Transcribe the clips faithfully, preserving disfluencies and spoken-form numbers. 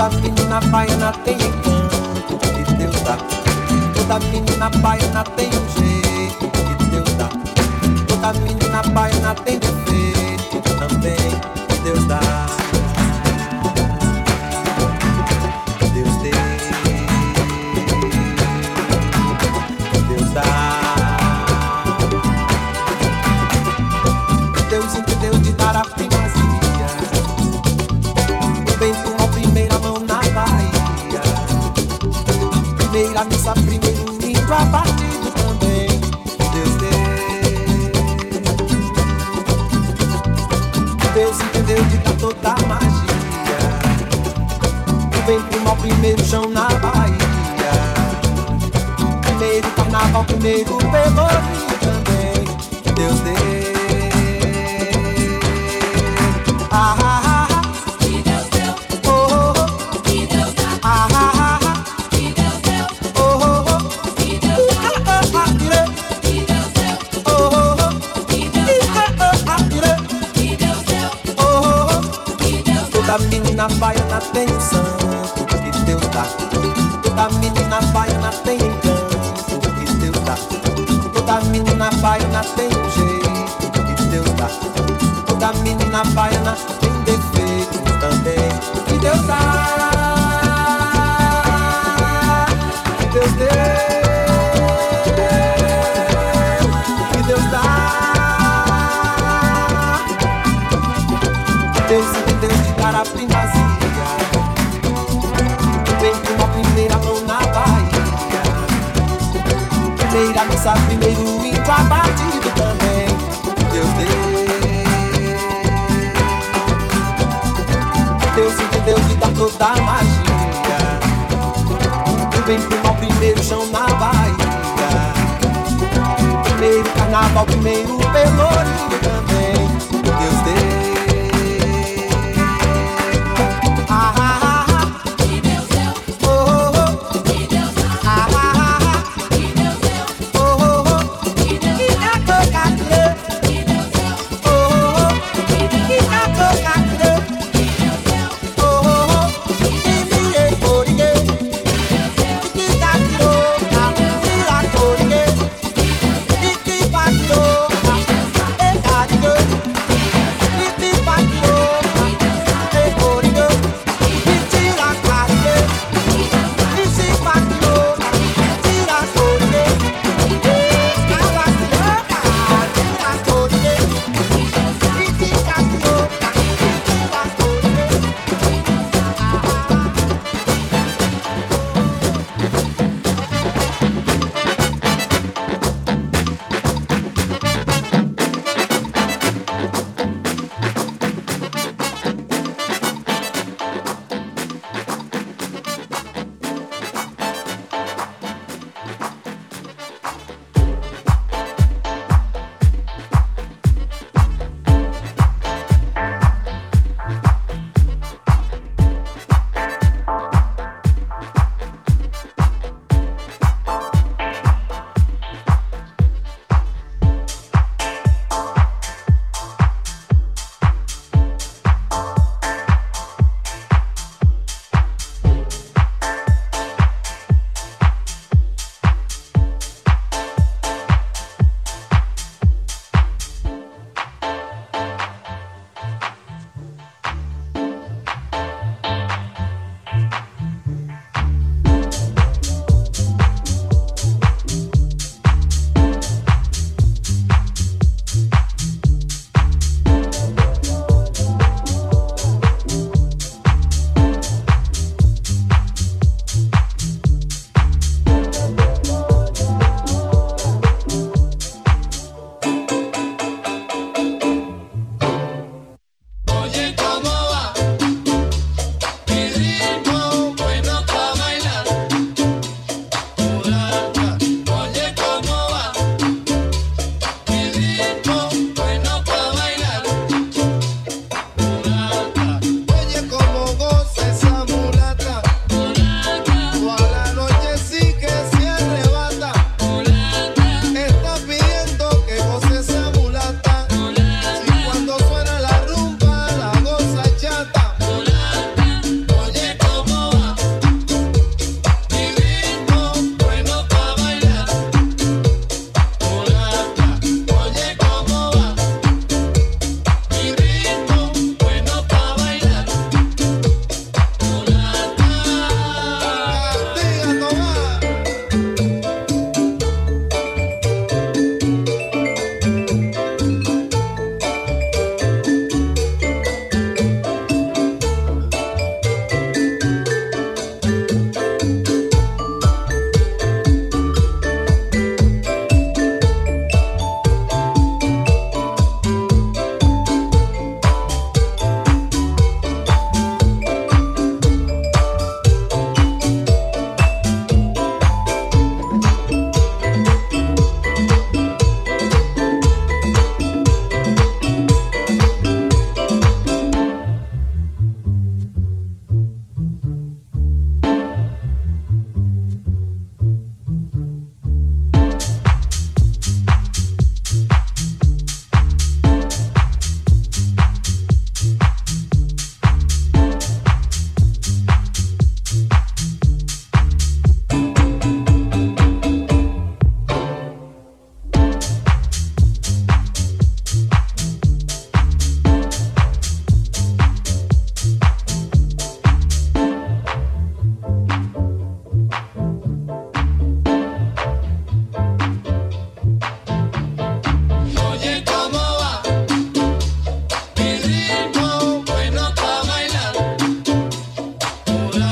Toda menina baiana tem encanto que Deus dá. Toda menina baiana tem um jeito que Deus dá. Toda menina baiana tem defeito também que Deus dá. Deus deu, Deus dá. Deus entendeu de dar a primazia. O vento na primeira mão na Bahia. Primeira missa, primeiro lindo abatido também. Deus deu. Deus entendeu de dar toda a magia. O vento no primeiro chão na Bahia. Primeiro carnaval, primeiro pelourinho também. Deus deu. Ah, ah, ah, que Deus deu, oh, oh, que Deus dá, ah, ah, ah, que Deus deu, oh, oh, oh, que Deus dá, ah, ah, ire, que Deus deu, oh, oh, oh, que Deus dá, ah, ah, ire, que Deus deu, oh, oh, oh. que Deus dá, Toda menina baiana tem um santo que Deus dá. Toda menina baiana tem encanto que Deus dá. Toda menina baiana tem um jeito que Deus dá. Toda menina baiana tem defeito também que Deus dá. Que Deus deu, que Deus dá. Deus entendeu de dar a primazia. Vem com uma primeira mão na Bahia. Primeira missa, primeiro índio abatido também. Deus deu. Deus entendeu de dar toda a magia. Vem com o primeiro chão na Bahia. Primeiro carnaval, primeiro pelourinho também. Deus deu. Ah, ah, ah, que Deus deu, oh, oh, que Deus dá, ah, ah, ah, que Deus deu, oh, oh, oh. que Deus E dá, a cocadeira, que Deus deu, oh, oh, oh. que Deus E dá, a cocadeira, que Deus deu, oh, oh, oh. E mirei por ninguém, e que catirou, e a cor ninguém, e que patirou, e catirou.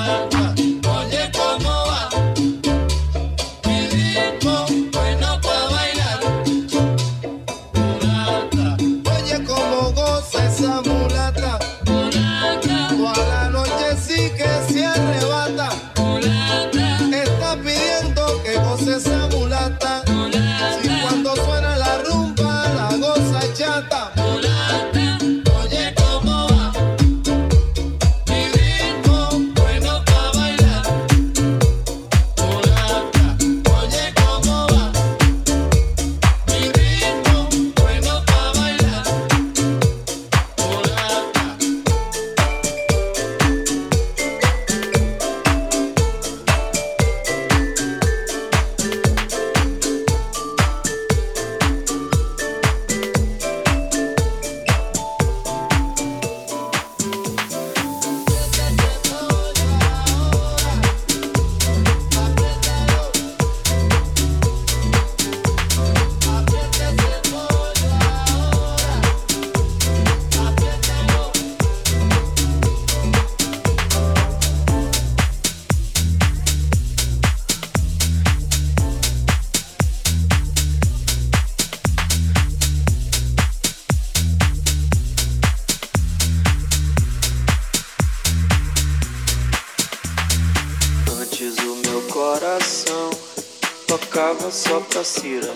tocava só pra Cira.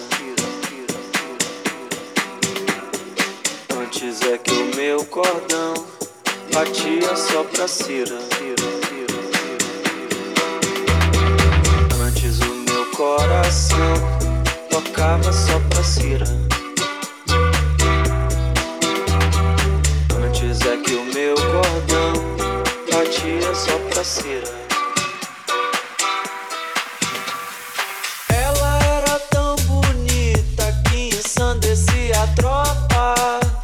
Antes é que o meu cordão batia só pra Cira. Antes o meu coração tocava só pra Cira. Antes é que o meu cordão batia só pra Cira. A tropa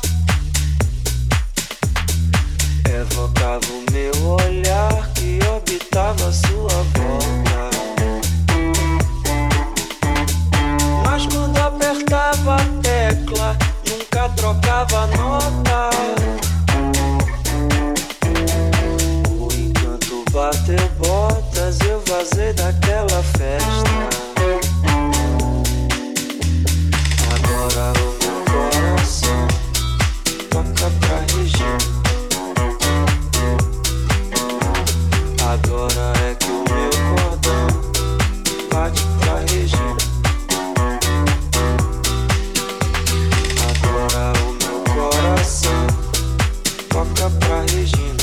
evocava o meu olhar que orbitava sua volta. Mas quando apertava a tecla, nunca trocava nota. O encanto bateu botas, eu vazei daquela festa. Agora o coração toca pra Regina. Agora é que o meu cordão bate pra Regina. Agora o meu coração toca pra Regina.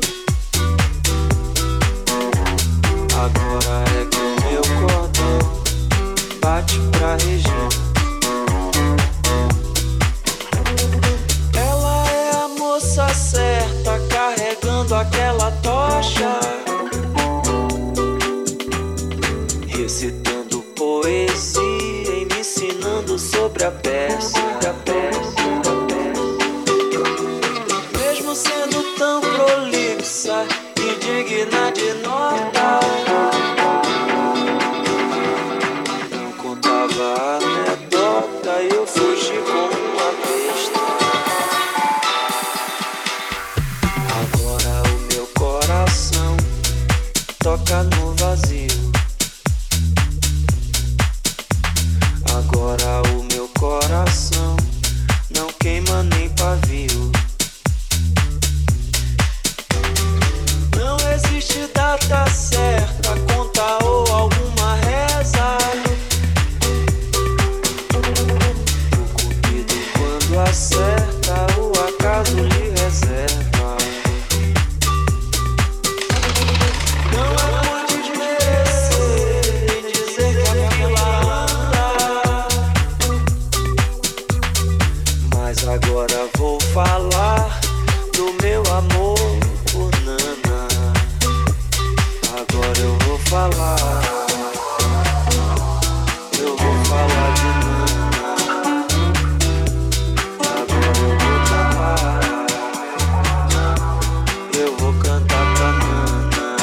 Agora é que o meu cordão bate pra Regina. Certa, carregando aquela tocha, recitando poesia e me ensinando sobre a peça, a peça, a peça. Mesmo sendo tão prolixa e digna de nota, não contava a anedota e eu fugi como uma besta. Toca no vazio. Agora o meu coração não queima nem pavio. Não existe data certa, conta ou alguma reza. O cupido quando acerta, o acaso lhe reserva. Agora vou falar do meu amor por Nana. Agora eu vou falar, eu vou falar de Nana. Agora eu vou cantar, eu vou cantar pra Nana.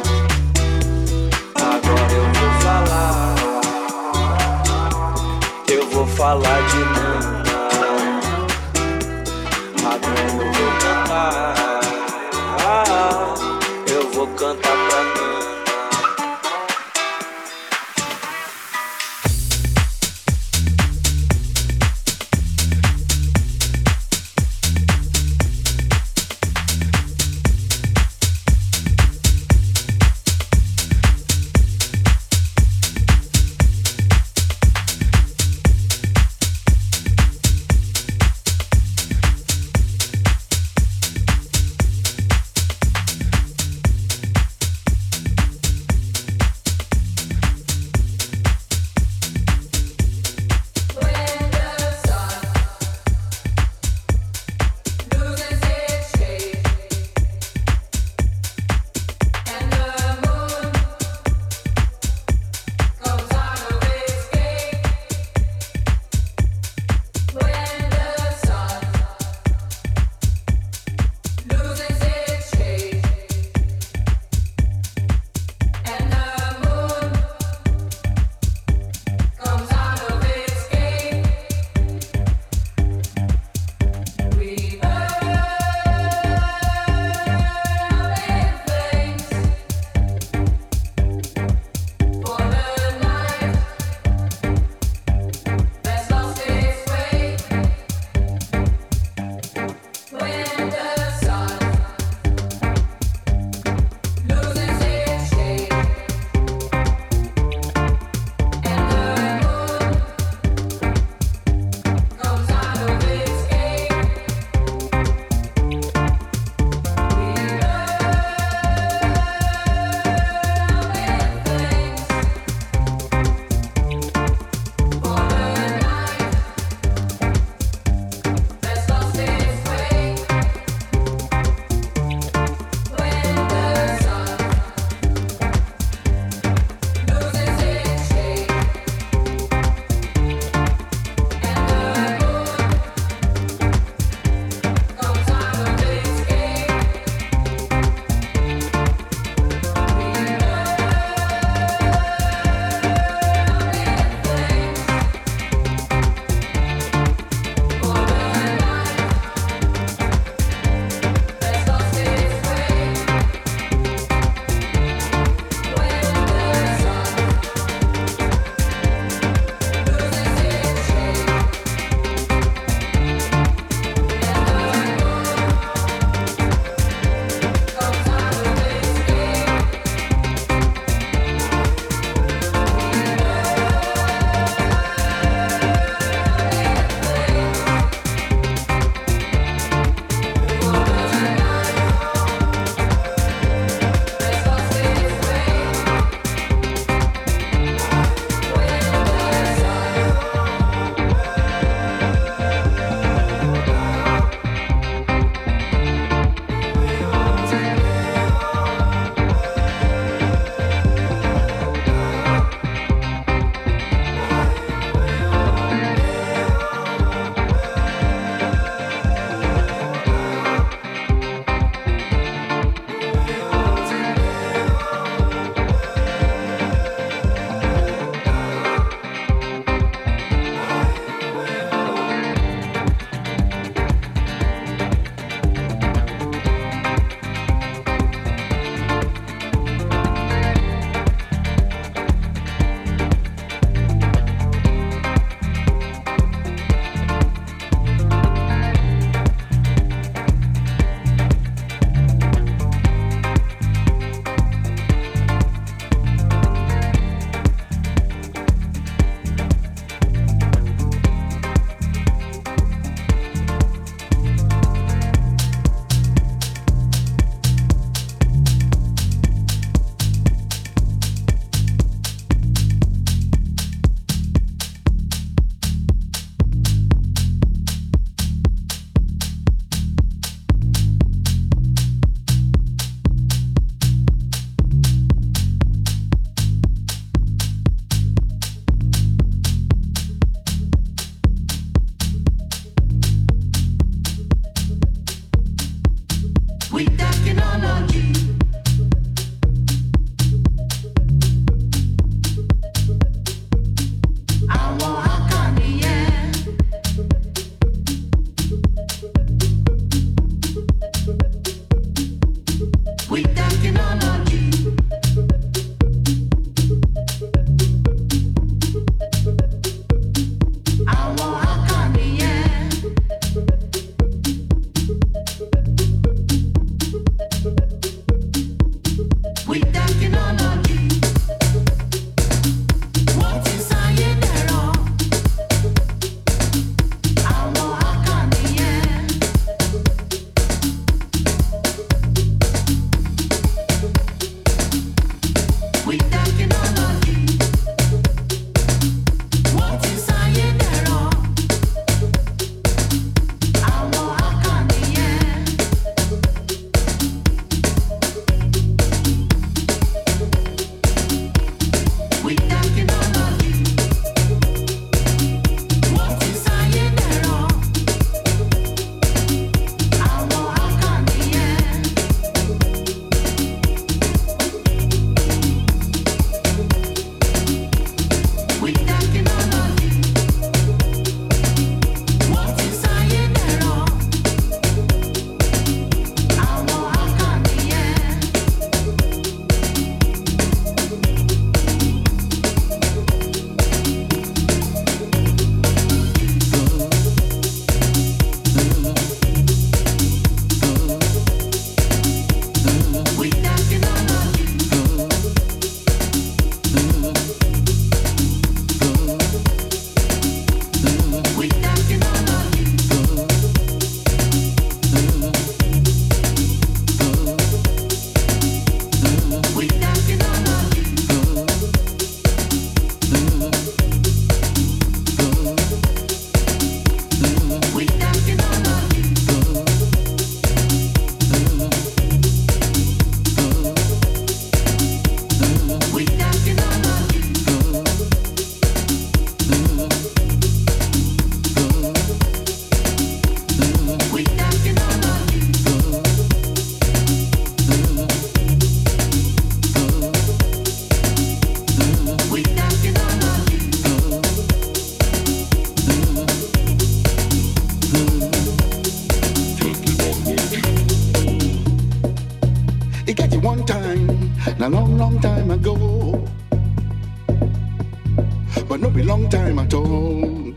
Agora eu vou falar, eu vou falar de Nana. Agora eu vou cantar, ah, eu vou cantar. canta pra Nana. a long, long time ago, but no be long time at all.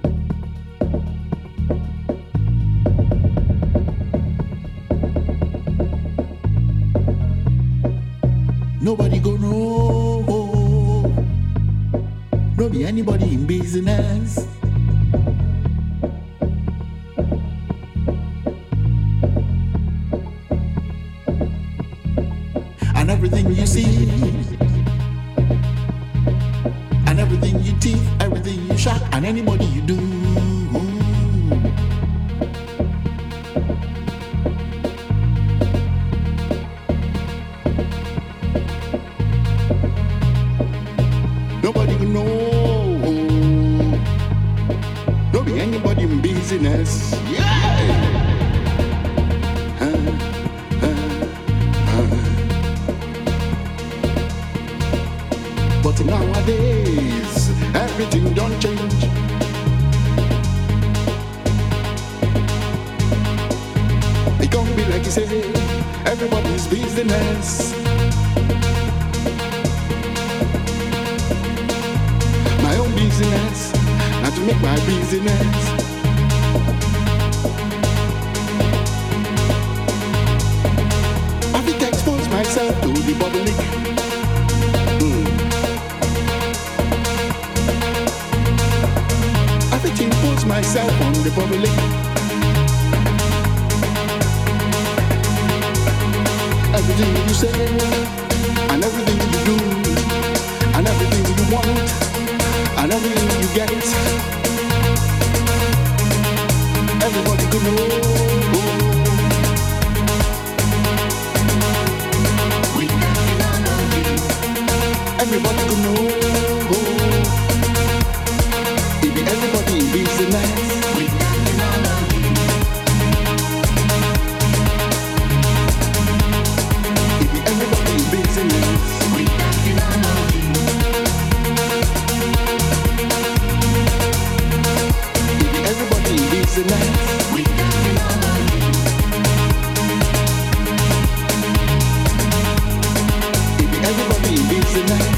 Nobody go know, no be anybody in business. And everything you see, and everything you teeth, everything you shot, and anybody you do. Nobody will know, no be anybody in business. Yeah. Huh, huh, huh. But nowadays, everything don't change. It can't be like you say, everybody's business. My own business, not to make my business. I have to expose myself to the public. Impose myself on the public. Everything you say, and everything you do, and everything you want, and everything you get, everybody could know. Everybody could know. Everybody in business. If everybody in business. If everybody in business. If everybody in business.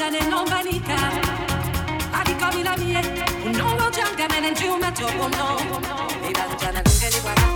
ne non vanica. Adicomi la mia, un nuovo gianga me ne giù ma troppo no. E la giana lunga di guarda.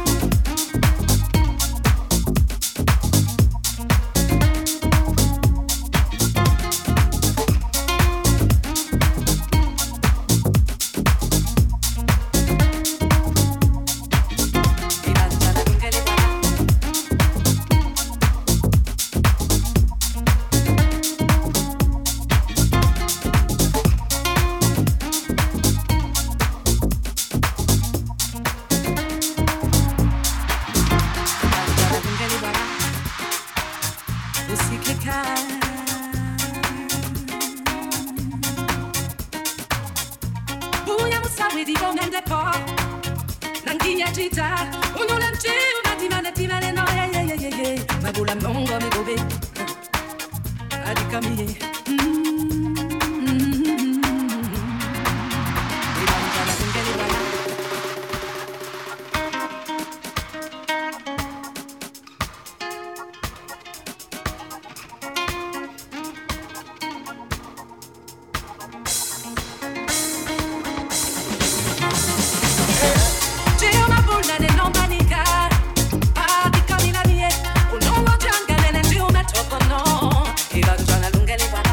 Lunga le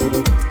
Thank